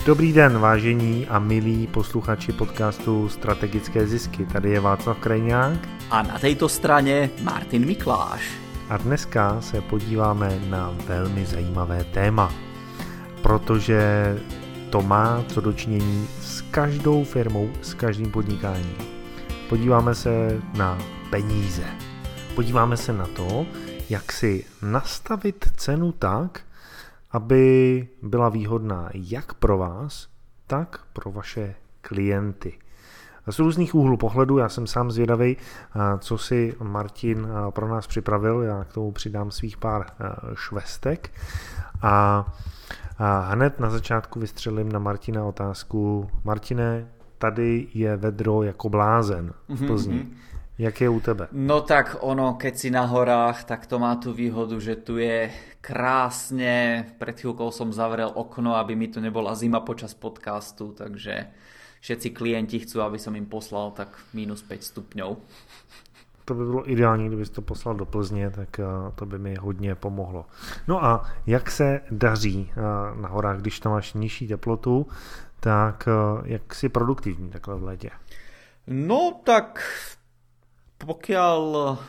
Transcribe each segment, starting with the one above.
Dobrý den, vážení a milí posluchači podcastu Strategické zisky. Tady je Václav Krajňák. A na této straně Martin Mikláš. A dneska se podíváme na velmi zajímavé téma, protože to má co dočinění s každou firmou, s každým podnikáním. Podíváme se na peníze. Podíváme se na to, jak si nastavit cenu tak, aby byla výhodná jak pro vás, tak pro vaše klienty. Z různých úhlů pohledu, já jsem sám zvědavý, co si Martin pro nás připravil, já k tomu přidám svých pár švestek a hned na začátku vystřelím na Martina otázku. Martine, tady je vedro jako blázen v Plzni. Jak je u tebe? No tak ono, keď si na horách, tak to má tú výhodu, že tu je krásne. Pred chvíľkou som zavrel okno, aby mi tu nebola zima počas podcastu, takže všetci klienti chcú, aby som im poslal tak minus 5 stupňov. To by bylo ideální, kdybys to poslal do Plzně, tak to by mi hodně pomohlo. No a jak se daří na horách, když tam máš nižší teplotu, tak jak si produktivní takhle v létě? No tak pokiaľ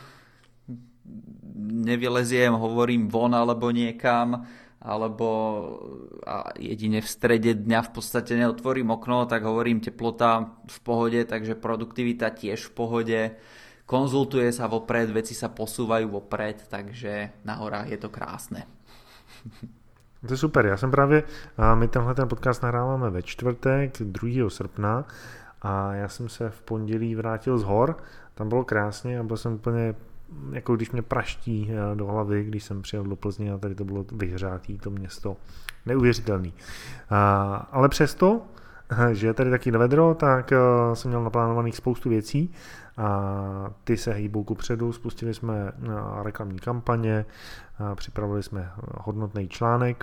nevyleziem, hovorím von alebo niekam, alebo a jedine v strede dňa v podstate neotvorím okno, tak hovorím teplota v pohode, takže produktivita tiež v pohode. Konzultuje sa vopred, veci sa posúvajú vopred, takže na horách je to krásne. To je super, já jsem právě, my tenhle ten podcast nahráváme ve čtvrtek 2. srpna a já jsem se v pondělí vrátil z hor, tam bylo krásně a byl jsem úplně, jako když mě praští do hlavy, když jsem přijel do Plzně a tady to bylo vyhřátý, to město, neuvěřitelný. Ale přesto, že je tady taky vedro, tak jsem měl naplánovaných spoustu věcí a ty se hýbou kupředu, spustili jsme reklamní kampaně, připravili jsme hodnotný článek,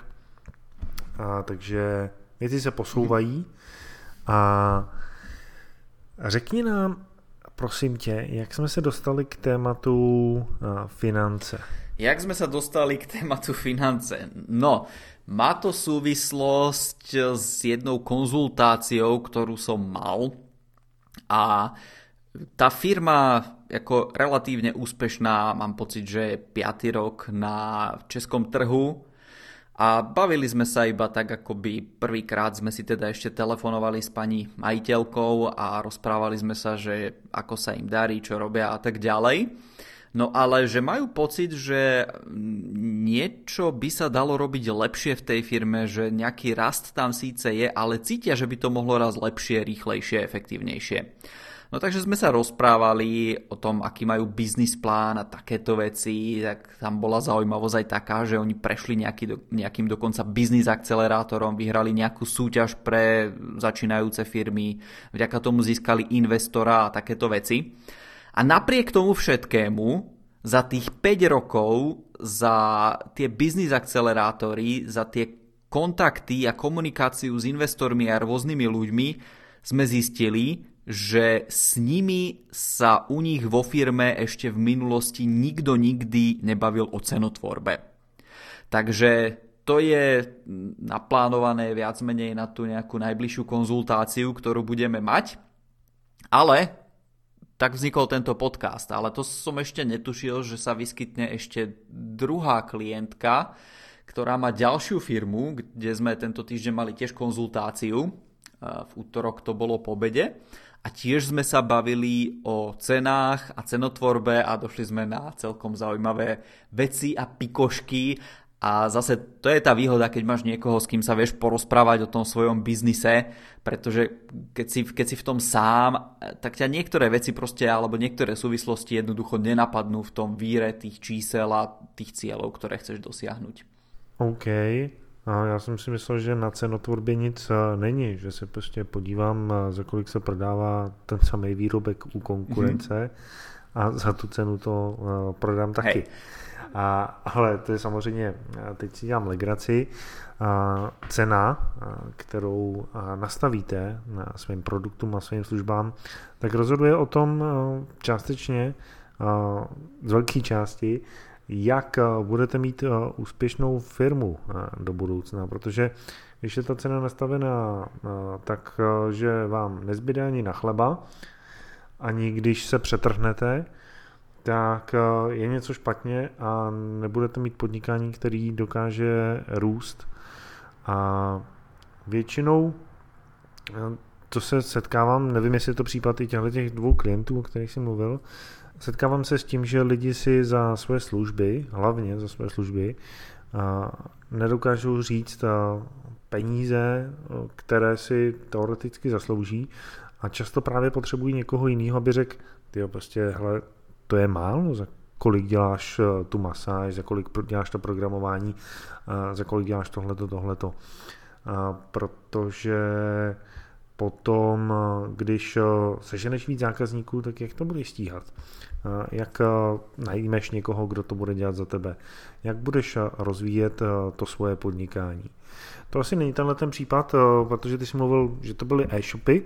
takže věci se posouvají a řekni nám, prosím tě, jak jsme se dostali k tématu finance? Jak sme sa dostali k tématu finance? No, má to súvislosť s jednou konzultáciou, ktorú som mal a tá firma ako relatívne úspešná, mám pocit, že je 5. rok na českom trhu a bavili sme sa iba tak, akoby prvýkrát sme si teda ešte telefonovali s pani majiteľkou a rozprávali sme sa, že ako sa im darí, čo robia a tak ďalej. No ale že majú pocit, že niečo by sa dalo robiť lepšie v tej firme, že nejaký rast tam síce je, ale cítia, že by to mohlo raz lepšie, rýchlejšie, efektívnejšie. No takže sme sa rozprávali o tom, aký majú biznis plán a takéto veci, tak tam bola zaujímavosť aj taká, že oni prešli nejakým dokonca biznis akcelerátorom, vyhrali nejakú súťaž pre začínajúce firmy, vďaka tomu získali investora a takéto veci. A napriek tomu všetkému, za tých 5 rokov, za tie biznis akcelerátory, za tie kontakty a komunikáciu s investormi a rôznymi ľuďmi sme zistili, že s nimi sa u nich vo firme ešte v minulosti nikto nikdy nebavil o cenotvorbe. Takže to je naplánované viac menej na tú nejakú najbližšiu konzultáciu, ktorú budeme mať. Ale tak vznikol tento podcast. Ale to som ešte netušil, že sa vyskytne ešte druhá klientka, ktorá má ďalšiu firmu, kde sme tento týždeň mali tiež konzultáciu. V útorok to bolo po obede. A tiež sme sa bavili o cenách a cenotvorbe a došli sme na celkom zaujímavé veci a pikošky. A zase to je tá výhoda, keď máš niekoho, s kým sa vieš porozprávať o tom svojom biznise, pretože keď si v tom sám, tak ťa niektoré veci proste, alebo niektoré súvislosti jednoducho nenapadnú v tom víre tých čísel a tých cieľov, ktoré chceš dosiahnuť. OK. A já jsem si myslel, že na cenotvorbě nic není, že se prostě podívám, za kolik se prodává ten samý výrobek u konkurence a za tu cenu to prodám taky. Hej. Ale to je samozřejmě, teď si dělám legraci, cena, kterou nastavíte na svým produktům a svým službám, tak rozhoduje o tom částečně, z velké části, jak budete mít úspěšnou firmu do budoucna, protože když je ta cena nastavená tak, že vám nezbyde ani na chleba, ani když se přetrhnete, tak je něco špatně a nebudete mít podnikání, který dokáže růst. A většinou, to se setkávám, nevím, jestli je to případ i těch dvou klientů, o kterých jsem mluvil, setkávám se s tím, že lidi si za své služby, hlavně za své služby, nedokážou říct peníze, které si teoreticky zaslouží a často právě potřebují někoho jiného, aby řekl, tyjo, prostě, hele, to je málo, za kolik děláš tu masáž, za kolik děláš to programování, za kolik děláš tohleto. Protože potom, když seženeš víc zákazníků, tak jak to budeš stíhat? Jak najmeš někoho, kdo to bude dělat za tebe? Jak budeš rozvíjet to svoje podnikání? To asi není tenhle ten případ, protože ty jsi mluvil, že to byly e-shopy,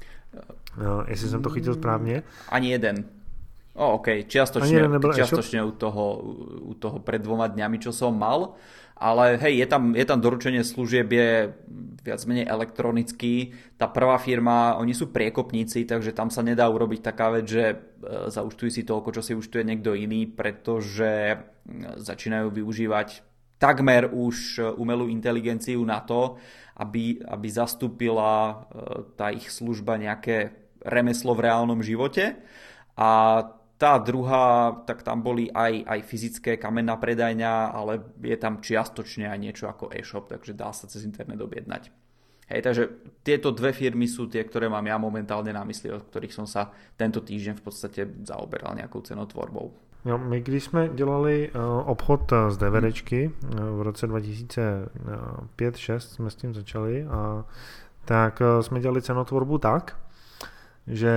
jestli jsem to chytil správně. Ani jeden. OK, čiastočne u toho pred 2 dňami, čo som mal, ale hej, je tam doručenie služieb, je viac menej elektronický. Tá prvá firma, oni sú priekopníci, takže tam sa nedá urobiť taká vec, že zaúčtuj si toľko, čo si účtuje niekto iný, pretože začínajú využívať takmer už umelú inteligenciu na to, aby zastúpila tá ich služba nejaké remeslo v reálnom živote. A tá druhá, tak tam boli aj fyzické kamenná predajňa, ale je tam čiastočne aj niečo ako e-shop, takže dá sa cez internet objednať. Hej, takže tieto dve firmy sú tie, ktoré mám ja momentálne na mysli, od ktorých som sa tento týždeň v podstate zaoberal nejakou cenotvorbou. No, my když jsme dělali obchod z DVDčky v roce 2005-2006 jsme s tím začali, tak jsme dělali cenotvorbu tak, že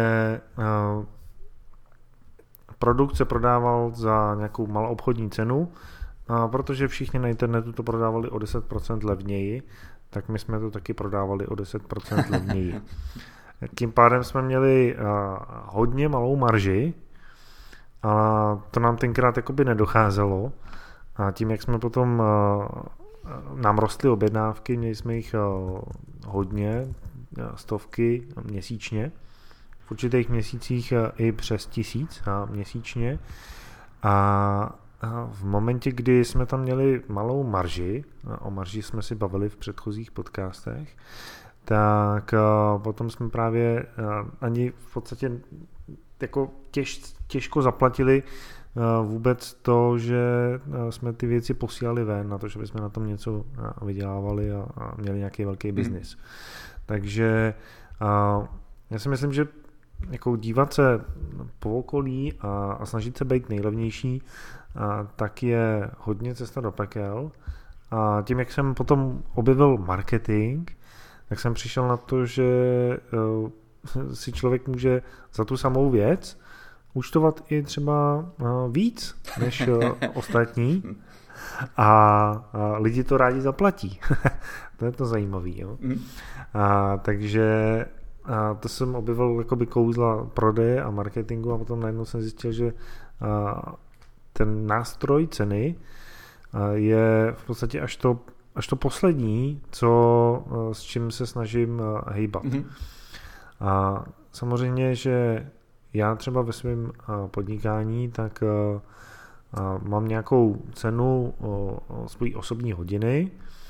produkt se prodával za nějakou maloobchodní cenu, protože všichni na internetu to prodávali o 10% levněji, tak my jsme to taky prodávali o 10% levněji. Tím pádem jsme měli hodně malou marži, a to nám tenkrát jakoby nedocházelo. A tím, jak jsme potom nám rostly objednávky, měli jsme jich hodně, stovky měsíčně. V určitých měsících i přes 1000 měsíčně. A v momentě, kdy jsme tam měli malou marži, o marži jsme si bavili v předchozích podcastech, tak potom jsme právě ani v podstatě jako těžko zaplatili vůbec to, že jsme ty věci posílali ven na to, že bychom na tom něco vydělávali a měli nějaký velký biznis. Takže já si myslím, že jako dívat se po okolí a snažit se být nejlevnější, tak je hodně cesta do pekel. A tím, jak jsem potom objevil marketing, tak jsem přišel na to, že si člověk může za tu samou věc účtovat i třeba víc než ostatní a lidi to rádi zaplatí. To je to zajímavý. Jo? Takže to jsem objevil jakoby kouzla prodeje a marketingu a potom najednou jsem zjistil, že ten nástroj ceny je v podstatě až to poslední, s čím se snažím hejbat. A samozřejmě, že já třeba ve svém podnikání, tak mám nějakou cenu svojí osobní hodiny,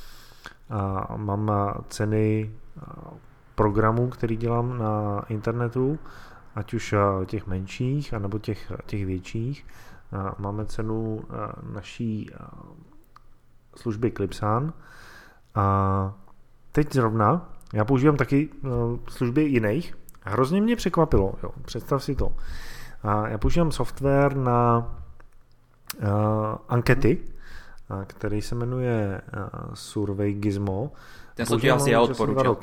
a mám ceny programů, který dělám na internetu, ať už těch menších, anebo těch větších. Máme cenu naší služby Clipsan a teď zrovna já používám taky služby jiných. Hrozně mě překvapilo, jo, představ si to. Já používám software na ankety, který se jmenuje Survey Gizmo. Ten som ti asi ja odporúčil.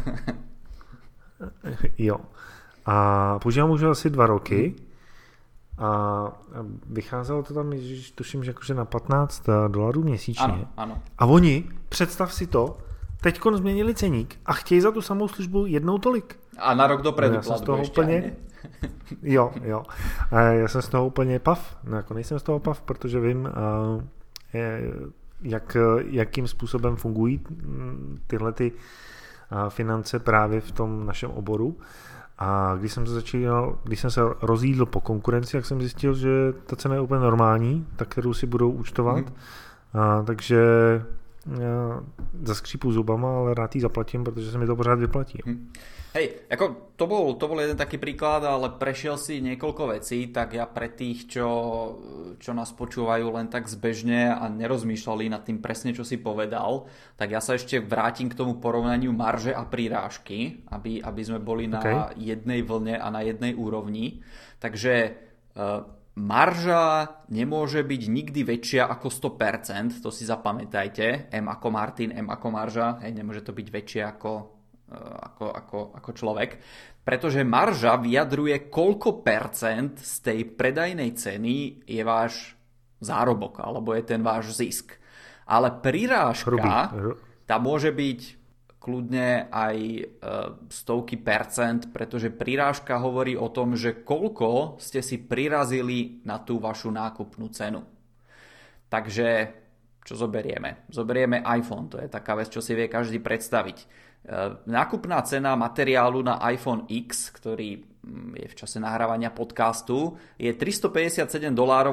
Jo. A používám už asi 2 roky a vycházelo to tam, tuším, že jakože na $15 měsíčně. Ano. A oni, představ si to, teďkon změnili ceník a chtějí za tu samou službu jednou tolik. A na rok dopredu platbu ještě. Úplně... Jo. A já jsem z toho úplně pav. No, jako nejsem z toho pav, protože vím, jakým způsobem fungují tyhle ty finance právě v tom našem oboru. A když jsem se rozjídl po konkurenci, tak jsem zjistil, že ta cena je úplně normální, ta, kterou si budou účtovat. Takže zaskřípu zubama, ale rád ji zaplatím, protože se mi to pořád vyplatí. Hej, ako to bol jeden taký príklad, ale prešiel si niekoľko vecí, tak ja pre tých, čo nás počúvajú len tak zbežne a nerozmýšľali nad tým presne, čo si povedal, tak ja sa ešte vrátim k tomu porovnaniu marže a prirážky, aby sme boli na jednej vlne a na jednej úrovni. Takže marža nemôže byť nikdy väčšia ako 100%, to si zapamätajte, M ako Martin, M ako marža, nemôže to byť väčšie ako človek, pretože marža vyjadruje, koľko percent z tej predajnej ceny je váš zárobok, alebo je ten váš zisk. Ale prirážka, tá môže byť kľudne aj stovky percent, pretože prirážka hovorí o tom, že koľko ste si prirazili na tú vašu nákupnú cenu. Takže čo zoberieme? Zoberieme iPhone, to je taká vec, čo si vie každý predstaviť. Nákupná cena materiálu na iPhone X, ktorý je v čase nahrávania podcastu, je $357.50.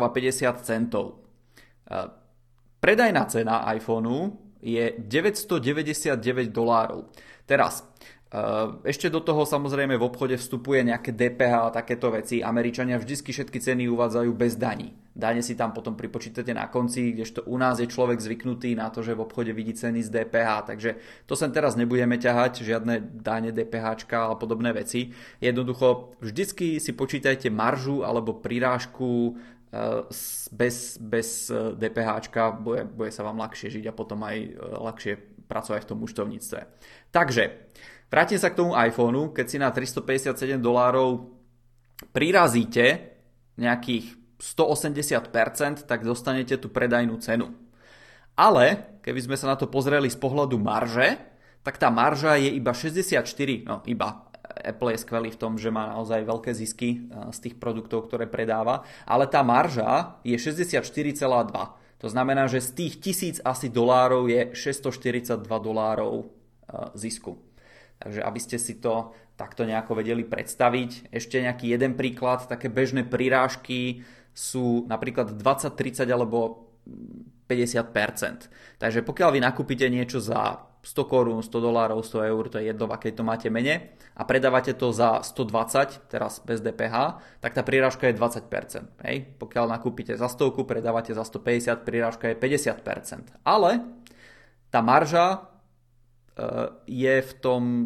Predajná cena iPhoneu je $999. Teraz, ešte do toho samozrejme v obchode vstupuje nejaké DPH a takéto veci. Američania vždycky všetky ceny uvádzajú bez daní. Dane si tam potom pripočítate na konci, kdežto u nás je človek zvyknutý na to, že v obchode vidí ceny z DPH. Takže to sem teraz nebudeme ťahať, žiadne dáne DPHčka a podobné veci. Jednoducho vždycky si počítajte maržu alebo prirážku bez DPHčka, bude sa vám ľahšie žiť a potom aj ľahšie pracovať v tom účtovníctve. Takže vrátim sa k tomu iPhoneu, keď si na $357 prirazíte nejakých 180%, tak dostanete tú predajnú cenu. Ale keby sme sa na to pozreli z pohľadu marže, tak tá marža je iba 64, Apple je skvelý v tom, že má naozaj veľké zisky z tých produktov, ktoré predáva, ale tá marža je 64,2. To znamená, že z tých $1000 je $642 zisku. Takže aby ste si to takto nejako vedeli predstaviť. Ešte nejaký jeden príklad, také bežné prirážky sú napríklad 20, 30 alebo 50%. Takže pokiaľ vy nakúpite niečo za 100 korún, $100, 100 eur, to je jedno, v akej to máte mene, a predávate to za 120, teraz bez DPH, tak tá prirážka je 20%. Hej? Pokiaľ nakúpite za 100, predávate za 150, prirážka je 50%. Ale tá marža je v tom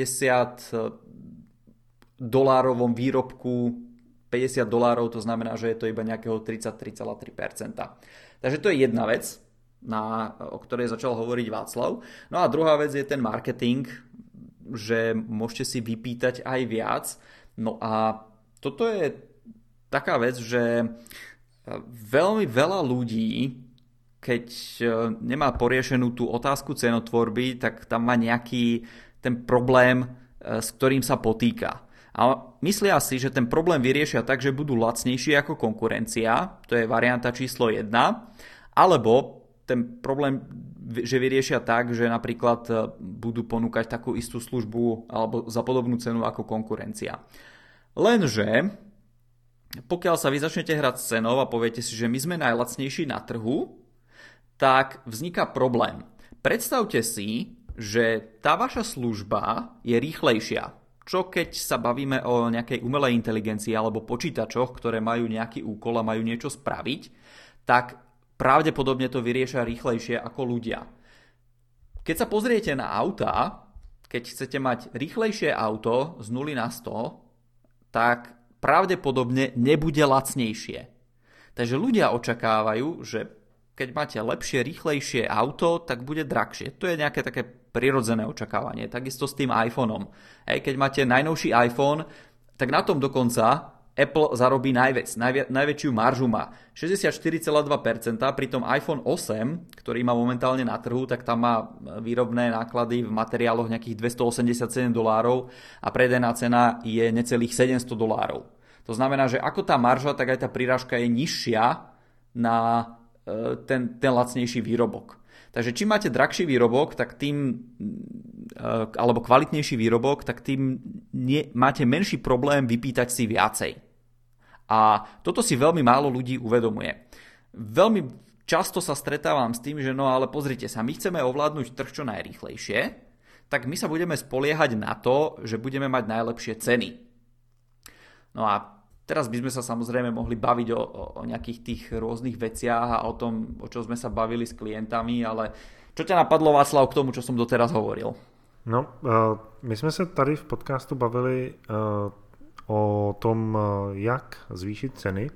$150 výrobku $50, to znamená, že je to iba nejakého 33,3%. Takže to je jedna vec, o ktorej začal hovoriť Václav. No a druhá vec je ten marketing, že môžete si vypýtať aj viac. No a toto je taká vec, že veľmi veľa ľudí, keď nemá poriešenú tú otázku cenotvorby, tak tam má nejaký ten problém, s ktorým sa potýka. A myslia si, že ten problém vyriešia tak, že budú lacnejšie ako konkurencia, to je varianta číslo 1, alebo ten problém, že vyriešia tak, že napríklad budú ponúkať takú istú službu alebo za podobnú cenu ako konkurencia. Lenže pokiaľ sa vy začnete hrať s cenou a poviete si, že my sme najlacnejší na trhu, tak vzniká problém. Predstavte si, že tá vaša služba je rýchlejšia. Čo keď sa bavíme o nejakej umelej inteligencii alebo počítačoch, ktoré majú nejaký úkol a majú niečo spraviť, tak pravdepodobne to vyriešia rýchlejšie ako ľudia. Keď sa pozriete na autá, keď chcete mať rýchlejšie auto z 0 na 100, tak pravdepodobne nebude lacnejšie. Takže ľudia očakávajú, že keď máte lepšie, rýchlejšie auto, tak bude drahšie. To je nejaké také prirodzené očakávanie. Takisto s tým iPhoneom. Keď máte najnovší iPhone, tak na tom dokonca Apple zarobí najväčšiu maržu má 64,2%, pritom iPhone 8, ktorý má momentálne na trhu, tak tam má výrobné náklady v materiáloch nejakých $287 a predajná cena je necelých $700. To znamená, že ako tá marža, tak aj tá prirážka je nižšia na ten lacnejší výrobok. Takže čím máte drahší výrobok, tak tým, alebo kvalitnejší výrobok, tak tým máte menší problém vypýtať si viacej. A toto si veľmi málo ľudí uvedomuje. Veľmi často sa stretávam s tým, že no ale pozrite sa, my chceme ovládnuť trh čo najrýchlejšie, tak my sa budeme spoliehať na to, že budeme mať najlepšie ceny. No a teraz by sme sa samozrejme mohli baviť o nejakých tých rôznych veciach a o tom, o čom sme sa bavili s klientami, ale čo ťa napadlo, Václav, k tomu, čo som doteraz hovoril? No, my jsme se tady v podcastu bavili o tom, jak zvýšit ceny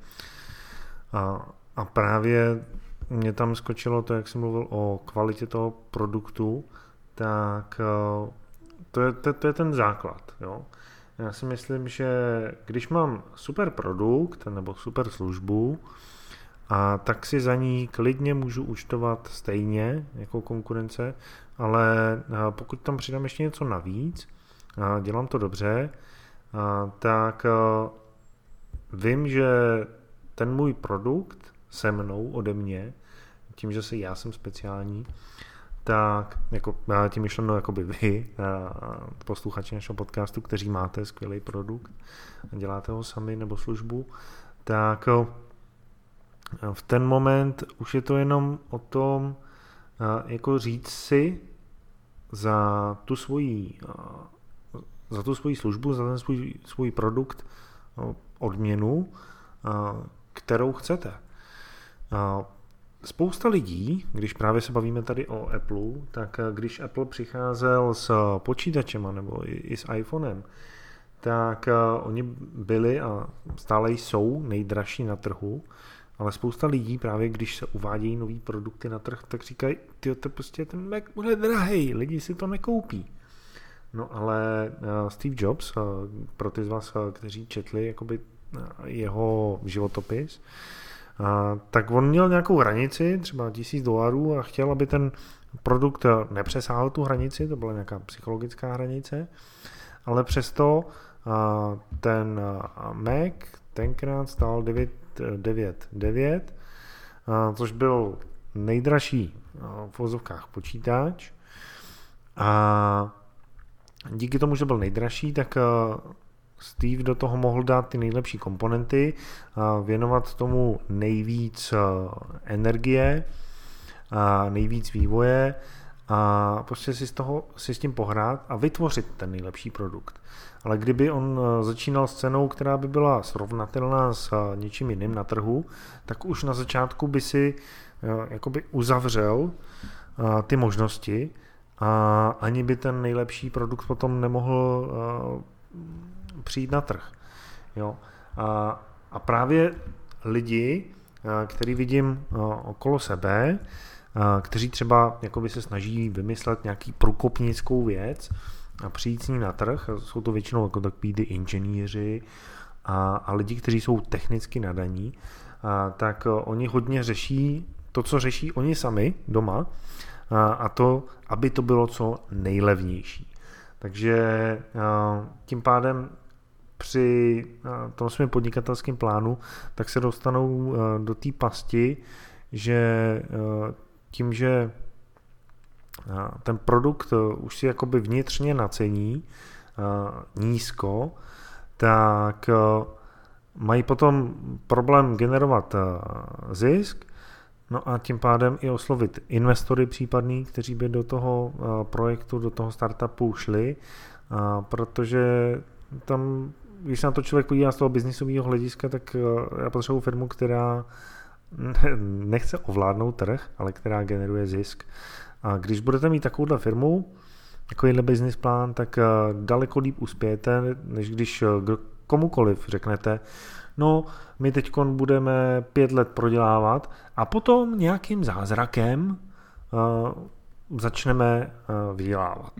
a právě mě tam skočilo to, jak jsem mluvil o kvalitě toho produktu, tak to je ten základ. Jo? Já si myslím, že když mám super produkt nebo super službu, tak si za ní klidně můžu účtovat stejně jako konkurence, ale pokud tam přidám ještě něco navíc, dělám to dobře, tak vím, že ten můj produkt se mnou ode mě, tím, že já jsem speciální, tak jako, tím myšleno jakoby vy, posluchači našeho podcastu, kteří máte skvělý produkt a děláte ho sami nebo službu, tak v ten moment už je to jenom o tom, jako říct si za tu svoji službu, za ten svůj produkt odměnu, kterou chcete. Spousta lidí, když právě se bavíme tady o Apple, tak když Apple přicházel s počítačema nebo i s iPhonem, tak oni byli a stále jsou nejdražší na trhu, ale spousta lidí právě, když se uvádějí nový produkty na trh, tak říkají, prostě ten Mac bude drahej, lidi si to nekoupí. No ale Steve Jobs, pro ty z vás, kteří četli jakoby jeho životopis, tak on měl nějakou hranici, třeba $1000 a chtěl, aby ten produkt nepřesáhl tu hranici, to byla nějaká psychologická hranice, ale přesto ten Mac tenkrát stál $999, což byl nejdražší v vozovkách počítač a díky tomu, že byl nejdražší, tak Steve do toho mohl dát ty nejlepší komponenty, věnovat tomu nejvíc energie, nejvíc vývoje a prostě si s tím pohrát a vytvořit ten nejlepší produkt. Ale kdyby on začínal s cenou, která by byla srovnatelná s něčím jiným na trhu, tak už na začátku by si jakoby uzavřel ty možnosti a ani by ten nejlepší produkt potom nemohl přijít na trh. Jo? A právě lidi, který vidím okolo sebe, kteří třeba jakoby se snaží vymyslet nějaký průkopnickou věc a přijít s ní na trh, jsou to většinou jako takový ty inženýři a lidi, kteří jsou technicky nadaní, tak oni hodně řeší to, co řeší oni sami doma, a to, aby to bylo co nejlevnější. Takže tím pádem při tom svém podnikatelském plánu tak se dostanou do té pasti, že tím, že ten produkt už si jakoby vnitřně nacení nízko, tak mají potom problém generovat zisk, no a tím pádem i oslovit investory případný, kteří by do toho projektu, do toho startupu šli, protože tam, když se na to člověk podívá z toho biznisového hlediska, tak já potřebuji firmu, která nechce ovládnout trh, ale která generuje zisk. A když budete mít takovouhle firmu, takovýhle business plán, tak daleko líp uspějete, než když komukoliv řeknete, no, my teď budeme 5 let prodělávat a potom nějakým zázrakem začneme vydělávat.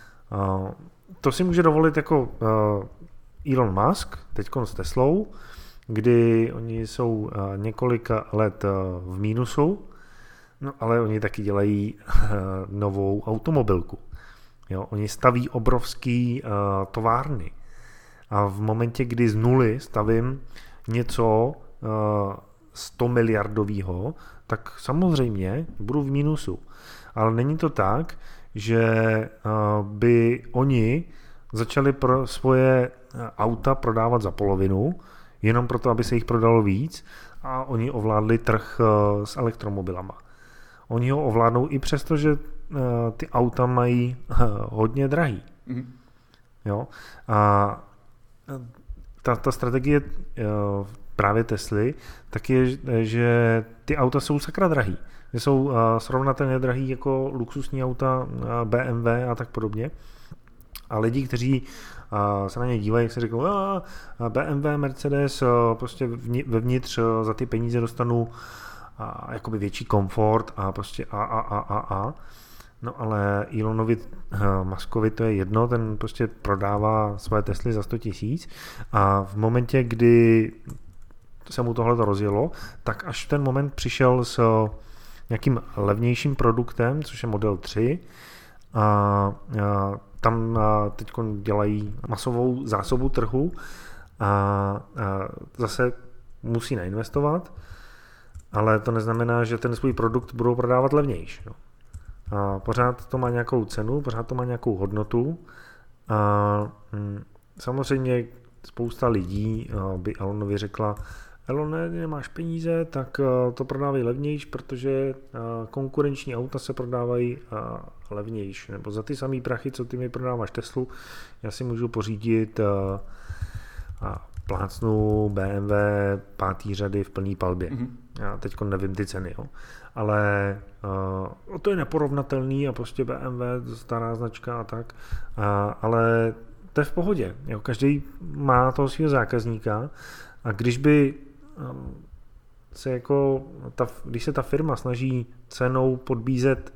To si může dovolit jako Elon Musk, teď s Teslou, kdy oni jsou několik let v mínusu, no ale oni taky dělají novou automobilku. Jo, oni staví obrovský továrny. A v momentě, kdy z nuly stavím něco 100 miliardového, tak samozřejmě budu v mínusu. Ale není to tak, že by oni začali pro svoje auta prodávat za polovinu, jenom proto, aby se jich prodalo víc a oni ovládli trh s elektromobilama. Oni ho ovládnou i přesto, že ty auta mají hodně drahý. Mm-hmm. Jo? A ta strategie právě Tesly tak je, že ty auta jsou sakra drahý. Že jsou srovnatelně drahý jako luxusní auta BMW a tak podobně. A lidi, kteří se na ně dívají, jak se řeknou, BMW, Mercedes, prostě vevnitř za ty peníze dostanu jakoby větší komfort a prostě No ale Elonovi Muskovi to je jedno, ten prostě prodává svoje Tesly za 100 000 a v momentě, kdy se mu tohle rozjelo, tak až ten moment přišel s nějakým levnějším produktem, což je Model 3 a tam teď dělají masovou zásobu trhu a zase musí nainvestovat, ale to neznamená, že ten svůj produkt budou prodávat levnější. No. A pořád to má nějakou cenu, pořád to má nějakou hodnotu a samozřejmě spousta lidí by Elonovi řekla, Elone, nemáš peníze, tak to prodávej levnější, protože konkurenční auta se prodávají levnější. Nebo za ty samý prachy, co ty mi prodáváš Teslu, já si můžu pořídit plácnu BMW 5. řady v plný palbě. Mm-hmm. Já teď nevím ty ceny, jo. Ale to je neporovnatelný a prostě BMW, stará značka a tak, ale to je v pohodě. Jo. Každý má toho svého zákazníka a když by se jako, když se ta firma snaží cenou podbízet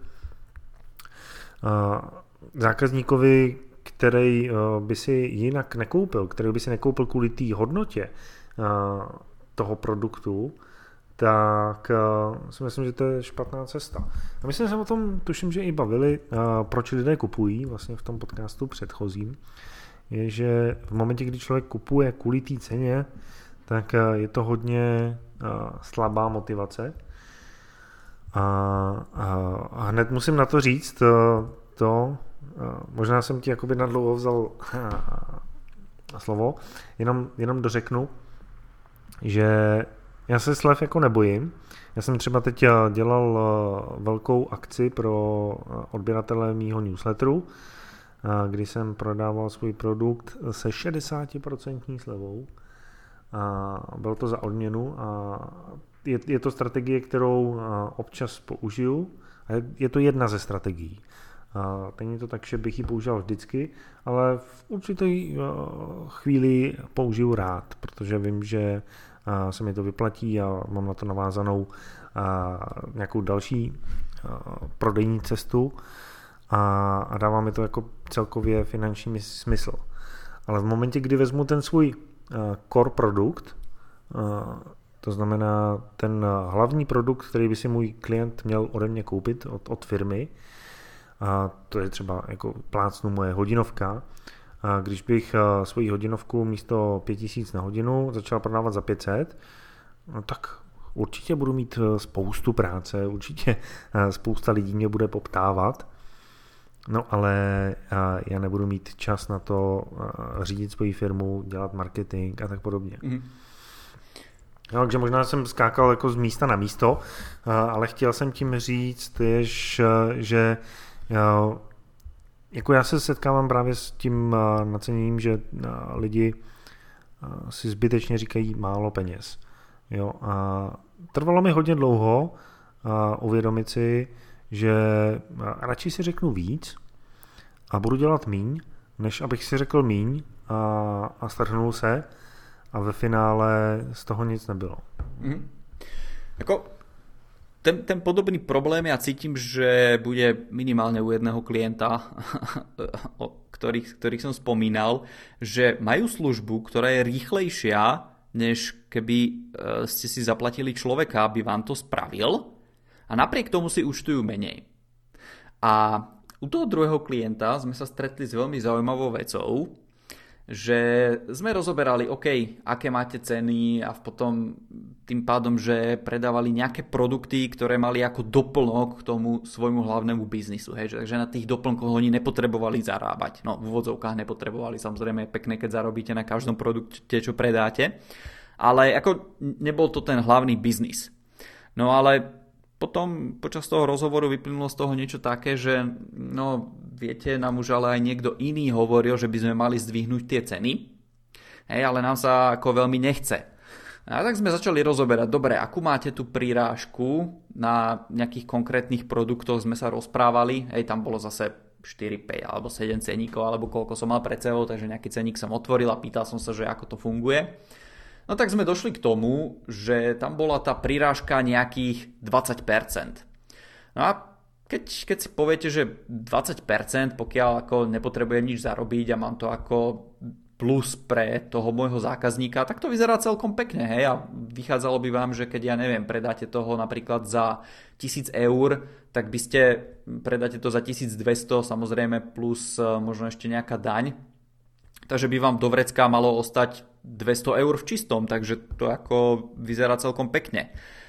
zákazníkovi, který by si jinak nekoupil, který by si nekoupil kvůli té hodnotě toho produktu, tak si myslím, že to je špatná cesta. A my jsme se o tom, tuším, že i bavili, proč lidé kupují, vlastně v tom podcastu předchozím, je, že v momentě, kdy člověk kupuje kvůli té ceně, tak je to hodně slabá motivace. A hned musím na to říct možná jsem ti jakoby nadlouho vzal slovo, jenom dořeknu, že já se slev jako nebojím. Já jsem třeba teď dělal velkou akci pro odběratele mýho newsletteru, kdy jsem prodával svůj produkt se 60% slevou. A bylo to za odměnu a je to strategie, kterou občas použiju. A je to jedna ze strategií. Není to tak, že bych ji používal vždycky, ale v určité chvíli použiju rád, protože vím, že se mi to vyplatí a mám na to navázanou nějakou další prodejní cestu a dává mi to jako celkově finanční smysl. Ale v momentě, kdy vezmu ten svůj core produkt, to znamená ten hlavní produkt, který by si můj klient měl ode mě koupit od firmy, a to je třeba jako plácnu moje hodinovka. A když bych svoji hodinovku místo 5000 na hodinu začal prodávat za 500, no tak určitě budu mít spoustu práce, určitě spousta lidí mě bude poptávat, no ale já nebudu mít čas na to řídit svoji firmu, dělat marketing a tak podobně. Mm. No, takže možná jsem skákal jako z místa na místo, ale chtěl jsem tím říct, že jako já se setkávám právě s tím naceněním, že lidi si zbytečně říkají málo peněz. Jo, a trvalo mi hodně dlouho uvědomit si, že radši si řeknu víc a budu dělat míň, než abych si řekl míň a strhnul se a ve finále z toho nic nebylo. Mm. Jako ten podobný problém ja cítim, že bude minimálne u jedného klienta, ktorých som spomínal, že majú službu, ktorá je rýchlejšia, než keby ste si zaplatili človeka, aby vám to spravil, a napriek tomu si účtujú menej. A u toho druhého klienta sme sa stretli s veľmi zaujímavou vecou, že sme rozoberali, OK, aké máte ceny a potom tým pádom, že predávali nejaké produkty, ktoré mali ako doplnok k tomu svojmu hlavnému biznisu. Hej? Takže na tých doplnkoch oni nepotrebovali zarábať. No, v úvodzovkách nepotrebovali. Samozrejme je pekné, keď zarobíte na každom produkte, čo predáte. Ale ako nebol to ten hlavný biznis. No ale potom počas toho rozhovoru vyplynulo z toho niečo také, že no viete, nám už ale aj niekto iný hovoril, že by sme mali zdvihnúť tie ceny, hej, ale nám sa ako veľmi nechce. A tak sme začali rozoberať, dobre, akú máte tu prirážku na nejakých konkrétnych produktoch, sme sa rozprávali, hej, tam bolo zase 4, 5 alebo 7 ceníkov, alebo koľko som mal pred sebou, takže nejaký ceník som otvoril a pýtal som sa, že ako to funguje. No tak sme došli k tomu, že tam bola tá prirážka nejakých 20%. No a keď si poviete, že 20%, pokiaľ ako nepotrebujem nič zarobiť a mám to ako plus pre toho môjho zákazníka, tak to vyzerá celkom pekne, hej, a vychádzalo by vám, že keď ja neviem, predáte toho napríklad za 1000 eur, tak by ste predáte to za 1200, samozrejme plus možno ešte nejaká daň, takže by vám do vrecka malo ostať 200 eur v čistom, takže to ako vyzerá celkom pekne.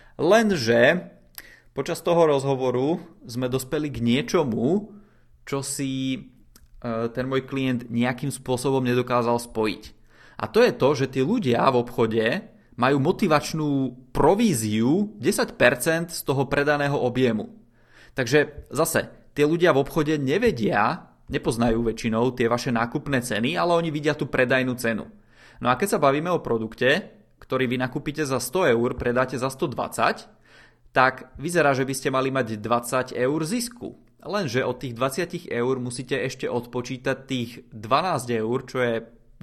Lenže počas toho rozhovoru sme dospeli k niečomu, čo si ten môj klient nejakým spôsobom nedokázal spojiť. A to je to, že tí ľudia v obchode majú motivačnú províziu 10% z toho predaného objemu. Takže zase, tí ľudia v obchode nepoznajú väčšinou tie vaše nákupné ceny, ale oni vidia tú predajnú cenu. No a keď sa bavíme o produkte, ktorý vy nakúpite za 100 eur, predáte za 120, tak vyzerá, že by ste mali mať 20 eur zisku. Lenže od tých 20 eur musíte ešte odpočítať tých 12 eur, čo je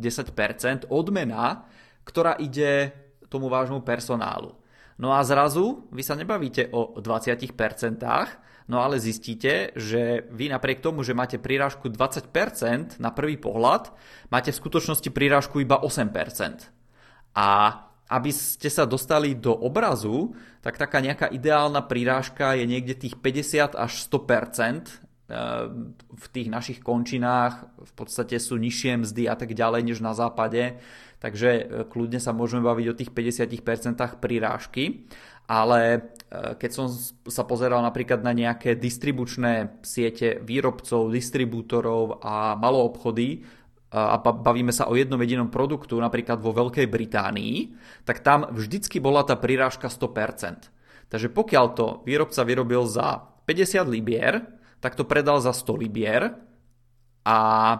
10% odmena, ktorá ide tomu vášmu personálu. No a zrazu vy sa nebavíte o 20%, no ale zistíte, že vy napriek tomu, že máte prirážku 20% na prvý pohľad, máte v skutočnosti prirážku iba 8%. A aby ste sa dostali do obrazu, tak taká nejaká ideálna prirážka je niekde tých 50 až 100%. V tých našich končinách v podstate sú nižšie mzdy a tak ďalej než na západe, takže kľudne sa môžeme baviť o tých 50% prirážky. Ale keď som sa pozeral napríklad na nejaké distribučné siete výrobcov, distribútorov a maloobchody a bavíme sa o jednom jedinom produktu, napríklad vo Veľkej Británii, tak tam vždycky bola tá prirážka 100%. Takže pokiaľ to výrobca vyrobil za 50 libier, tak to predal za 100 libier a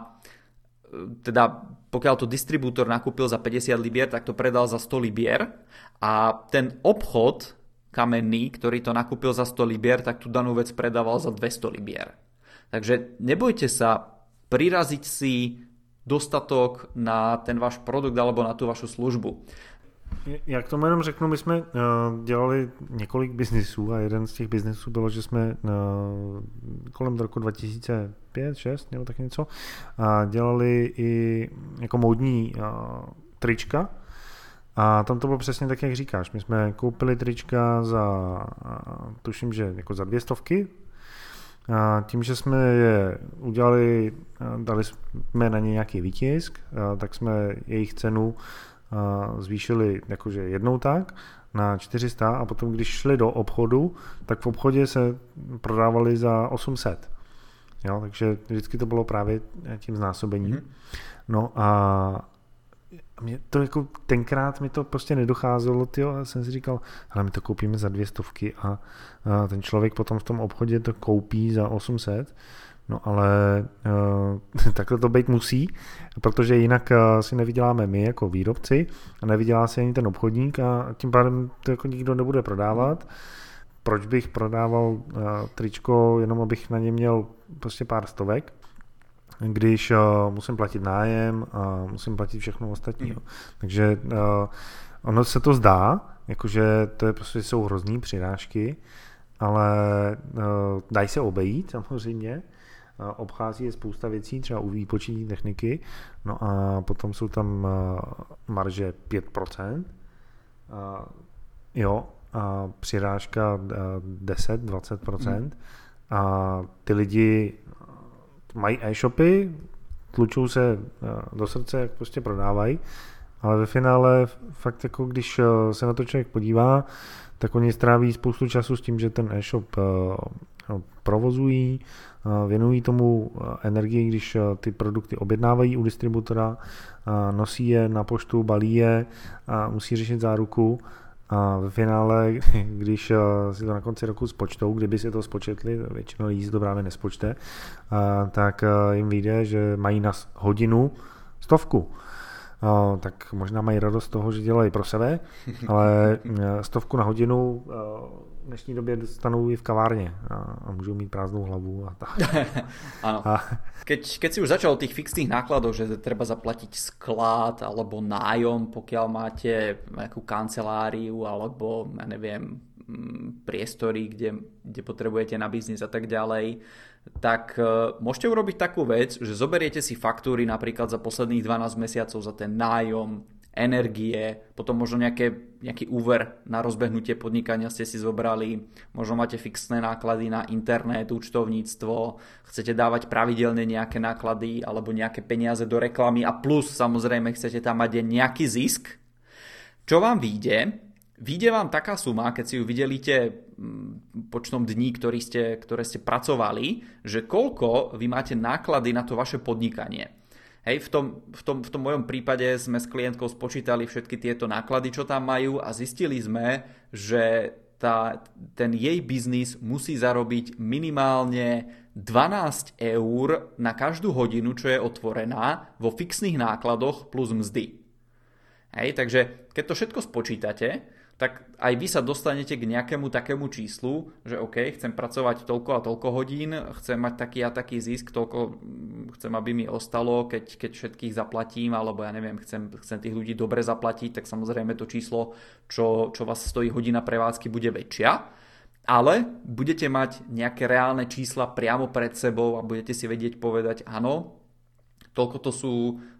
teda pokiaľ to distribútor nakúpil za 50 libier, tak to predal za 100 libier a ten obchod kamenný, ktorý to nakúpil za 100 libier, tak tú danú vec predával za 200 libier. Takže nebojte sa priraziť si dostatok na ten váš produkt alebo na tu vašu službu. Já k tomu jenom řeknu, my jsme dělali několik biznisů a jeden z těch biznisů bylo, že jsme kolem roku 2005-2006 nebo tak něco dělali i jako módní trička a tam to bylo přesně tak, jak říkáš. My jsme koupili trička za, tuším, že jako za 200. A tím, že jsme je udělali, dali jsme na ně nějaký výtisk, tak jsme jejich cenu zvýšili jakože jednou tak na 400 a potom, když šli do obchodu, tak v obchodě se prodávali za 800. Jo, takže vždycky to bylo právě tím znásobením. No a mě to jako tenkrát mi to prostě nedocházelo, a jsem si říkal, hele, my to koupíme za 200 a ten člověk potom v tom obchodě to koupí za 800. No ale takhle to být musí, protože jinak si nevyděláme my jako výrobci a nevydělá si ani ten obchodník a tím pádem to jako nikdo nebude prodávat. Proč bych prodával tričko, jenom abych na ně měl prostě pár stovek, když musím platit nájem a musím platit všechno ostatní. Takže ono se to zdá, jakože to je prostě jsou hrozný přirážky, ale dají se obejít samozřejmě. Obchází je spousta věcí, třeba u výpočetní techniky, no a potom jsou tam marže 5%, jo, a přirážka 10-20%, a ty lidi mají e-shopy, tlučou se do srdce, jak prostě prodávají, ale ve finále fakt jako když se na to člověk podívá, tak oni stráví spoustu času s tím, že ten e-shop provozují, věnují tomu energii, když ty produkty objednávají u distributora, nosí je na poštu, balí je, musí řešit záruku a ve finále, když si to na konci roku spočtou, kdyby si to spočetli, většinou lidí si to právě nespočte, tak jim vyjde, že mají na hodinu 100. Tak možná mají radost z toho, že dělají pro sebe, ale 100 na hodinu v dnešní době dostanou i v kavárně a můžou mít prázdnou hlavu a tak. Áno. Keď si už začal o tých fixných nákladoch, že treba zaplatiť sklad alebo nájom, pokiaľ máte nejakú kanceláriu alebo, ja neviem, priestory, kde potrebujete na biznis a tak ďalej, tak môžete urobiť takú vec, že zoberiete si faktúry napríklad za posledných 12 mesiacov za ten nájom, energie, potom možno nejaký úver na rozbehnutie podnikania ste si zobrali, možno máte fixné náklady na internet, účtovníctvo, chcete dávať pravidelne nejaké náklady alebo nejaké peniaze do reklamy a plus samozrejme chcete tam mať nejaký zisk. Čo vám vyjde? Vyjde vám taká suma, keď si ju vydelíte počtom dní, ktoré ste pracovali, že koľko vy máte náklady na to vaše podnikanie. Hej, v tom mojom prípade sme s klientkou spočítali všetky tieto náklady, čo tam majú a zistili sme, že ten jej biznis musí zarobiť minimálne 12 eur na každú hodinu, čo je otvorená vo fixných nákladoch plus mzdy. Hej, takže keď to všetko spočítate, tak aj vy sa dostanete k nejakému takému číslu, že OK, chcem pracovať toľko a toľko hodín, chcem mať taký a taký zisk, toľko chcem, aby mi ostalo, keď všetkých zaplatím, alebo ja neviem, chcem tých ľudí dobre zaplatiť, tak samozrejme to číslo, čo vás stojí hodina prevádzky, bude väčšia, ale budete mať nejaké reálne čísla priamo pred sebou a budete si vedieť povedať, áno, toľko to sú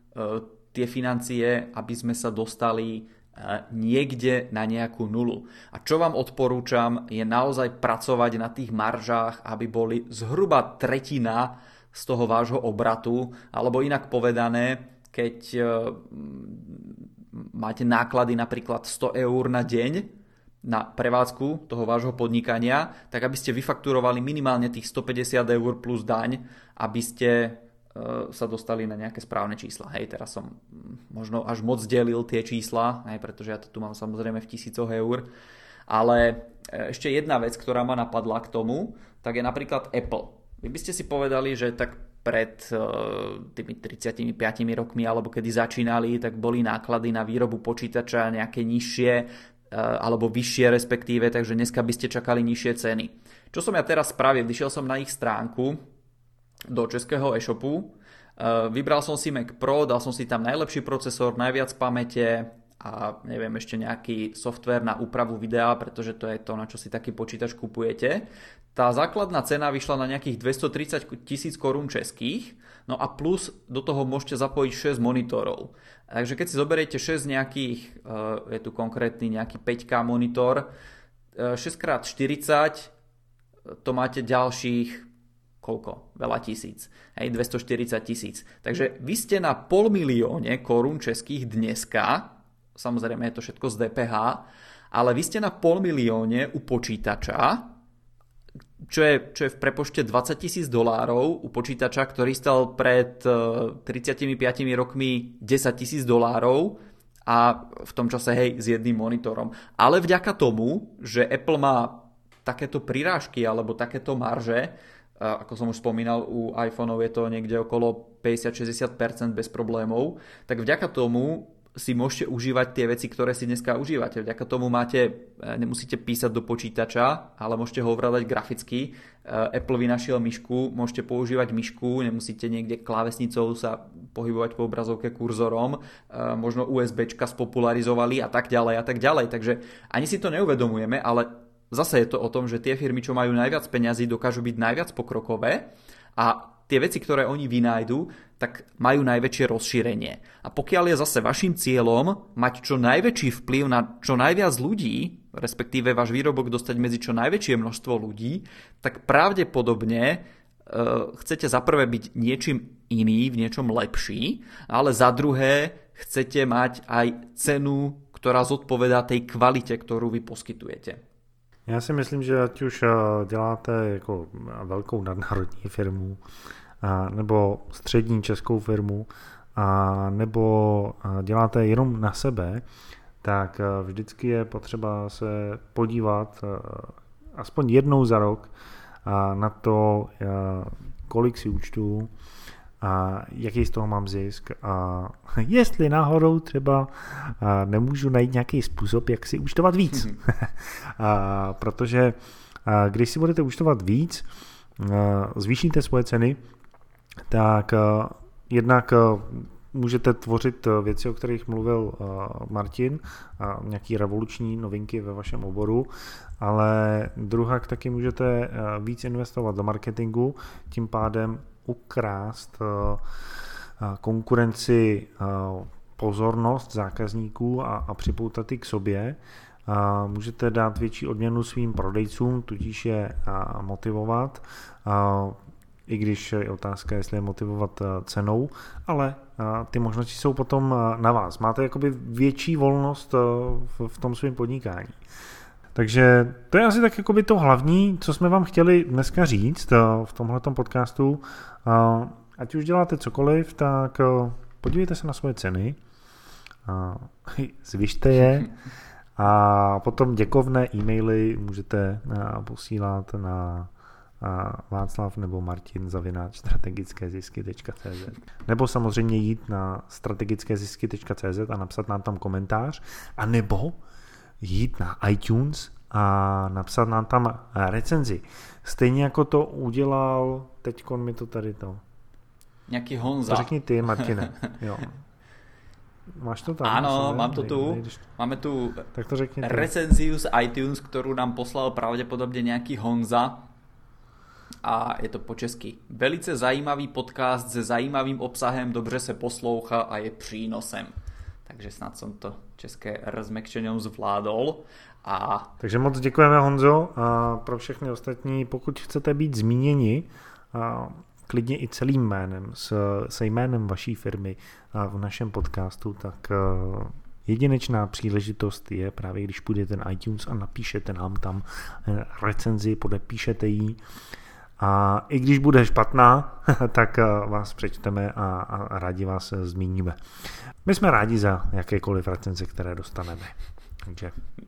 tie financie, aby sme sa dostali niekde na nejakú nulu. A čo vám odporúčam, je naozaj pracovať na tých maržách, aby boli zhruba tretina z toho vášho obratu, alebo inak povedané, keď máte náklady napríklad 100 eur na deň na prevádzku toho vášho podnikania, tak aby ste vyfakturovali minimálne tých 150 eur plus daň, aby ste sa dostali na nejaké správne čísla. Hej, teraz som možno až moc delil tie čísla, hej, pretože ja to tu mám samozrejme v tisícoch eur. Ale ešte jedna vec, ktorá ma napadla k tomu, tak je napríklad Apple. Vy by ste si povedali, že tak pred tými 35 rokmi, alebo kedy začínali, tak boli náklady na výrobu počítača nejaké nižšie, alebo vyššie respektíve, takže dneska by ste čakali nižšie ceny. Čo som ja teraz spravil? Vyšiel som na ich stránku do českého e-shopu, vybral som si Mac Pro, dal som si tam najlepší procesor, najviac pamäte a neviem, ešte nejaký software na úpravu videa, pretože to je to, na čo si taký počítač kupujete. Tá základná cena vyšla na nejakých 230 000 korún českých, no a plus do toho môžete zapojiť 6 monitorov. Takže keď si zoberiete 6 nejakých, je tu konkrétny nejaký 5K monitor, 6x40, to máte ďalších koľko? Veľa tisíc. Hej, 240 000. Takže vy ste na 500 000 korún českých dneska, samozrejme je to všetko z DPH, ale vy ste na 500 000 u počítača, čo je v prepočte $20,000 u počítača, ktorý stal pred 35 rokmi $10,000 a v tom čase hej s jedným monitorom. Ale vďaka tomu, že Apple má takéto prirážky alebo takéto marže, ako som už spomínal, u iPhoneov je to niekde okolo 50-60% bez problémov, tak vďaka tomu si môžete užívať tie veci, ktoré si dneska užívate. Vďaka tomu nemusíte písať do počítača, ale môžete ho ovládať graficky. Apple vynašiel myšku, môžete používať myšku, nemusíte niekde klávesnicou sa pohybovať po obrazovke kurzorom, možno USBčka spopularizovali a tak ďalej a tak ďalej. Takže ani si to neuvedomujeme, ale zase je to o tom, že tie firmy, čo majú najviac peňazí, dokážu byť najviac pokrokové a tie veci, ktoré oni vynájdu, tak majú najväčšie rozšírenie. A pokiaľ je zase vašim cieľom mať čo najväčší vplyv na čo najviac ľudí, respektíve váš výrobok dostať medzi čo najväčšie množstvo ľudí, tak pravdepodobne chcete za prvé byť niečím iný, v niečom lepší, ale za druhé chcete mať aj cenu, ktorá zodpovedá tej kvalite, ktorú vy poskytujete. Já si myslím, že ať už děláte jako velkou nadnárodní firmu, nebo střední českou firmu, nebo děláte jenom na sebe, tak vždycky je potřeba se podívat aspoň jednou za rok na to, kolik si účtuju a jaký z toho mám zisk a jestli náhodou třeba nemůžu najít nějaký způsob, jak si účtovat víc. Protože když si budete účtovat víc, zvýšíte svoje ceny, tak jednak můžete tvořit věci, o kterých mluvil Martin, nějaký revoluční novinky ve vašem oboru, ale druhak taky můžete víc investovat do marketingu, tím pádem ukrást konkurenci pozornost zákazníků a připoutat ji k sobě. Můžete dát větší odměnu svým prodejcům, tudíž je motivovat, i když je otázka, jestli je motivovat cenou, ale ty možnosti jsou potom na vás. Máte jakoby větší volnost v tom svém podnikání. Takže to je asi tak jakoby to hlavní, co jsme vám chtěli dneska říct v tomhletom podcastu. Ať už děláte cokoliv, tak podívejte se na svoje ceny, zvyšte je a potom děkovné e-maily můžete posílat na Václav nebo Martin @strategickézisky.cz nebo samozřejmě jít na strategickézisky.cz a napsat nám tam komentář, a nebo jít na iTunes a napsat nám tam recenzi. Stejně jako to udělal, teďkon mi to tady to. Nějaký Honza. To řekni ty, Martine. Jo. Máš to tam? Áno, mám to tu. Máme tu tak to řekni recenziu z iTunes, ktorú nám poslal pravdepodobne nejaký Honza. A je to po česky. Velice zajímavý podcast se zajímavým obsahem, dobře se poslouchá a je přínosem. Takže snad som to české rozmekčením zvládol. Takže moc děkujeme, Honzo, a pro všechny ostatní, pokud chcete být zmíněni klidně i celým jménem, se jménem vaší firmy v našem podcastu, tak jedinečná příležitost je právě, když půjdete na iTunes a napíšete nám tam recenzi, podepíšete ji. A i když bude špatná, tak vás přečteme a rádi vás zmíníme. My jsme rádi za jakékoliv recenze, které dostaneme. Takže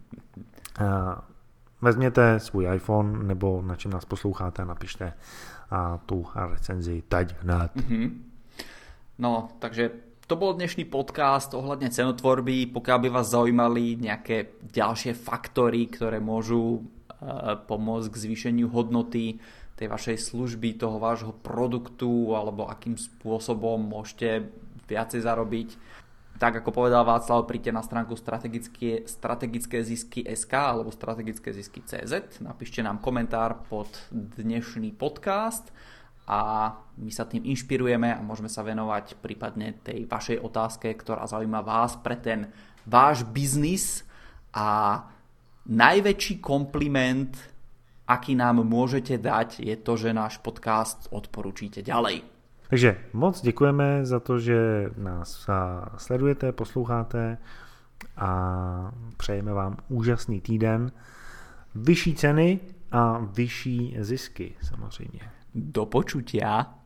vezměte svůj iPhone nebo na čem nás posloucháte a napište tu recenzi teď hned. No, takže to bol dnešný podcast ohľadne cenotvorby. Pokiaľ by vás zaujímali nejaké ďalšie faktory, ktoré môžu pomôcť k zvýšeniu hodnoty tej vašej služby, toho vášho produktu, alebo akým spôsobom môžete viacej zarobiť, tak ako povedal Václav, príďte na stránku strategické zisky.sk alebo strategické zisky.cz, napíšte nám komentár pod dnešný podcast a my sa tým inšpirujeme a môžeme sa venovať prípadne tej vašej otázke, ktorá zaujíma vás pre ten váš biznis. A najväčší kompliment, aký nám môžete dať, je to, že náš podcast odporúčite ďalej. Takže moc děkujeme za to, že nás sledujete, posloucháte a přejeme vám úžasný týden, vyšší ceny a vyšší zisky samozřejmě. Do počutia.